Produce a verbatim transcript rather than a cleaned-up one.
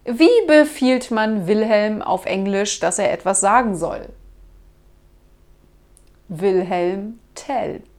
Wie befiehlt man Wilhelm auf Englisch, dass er etwas sagen soll? Wilhelm, tell.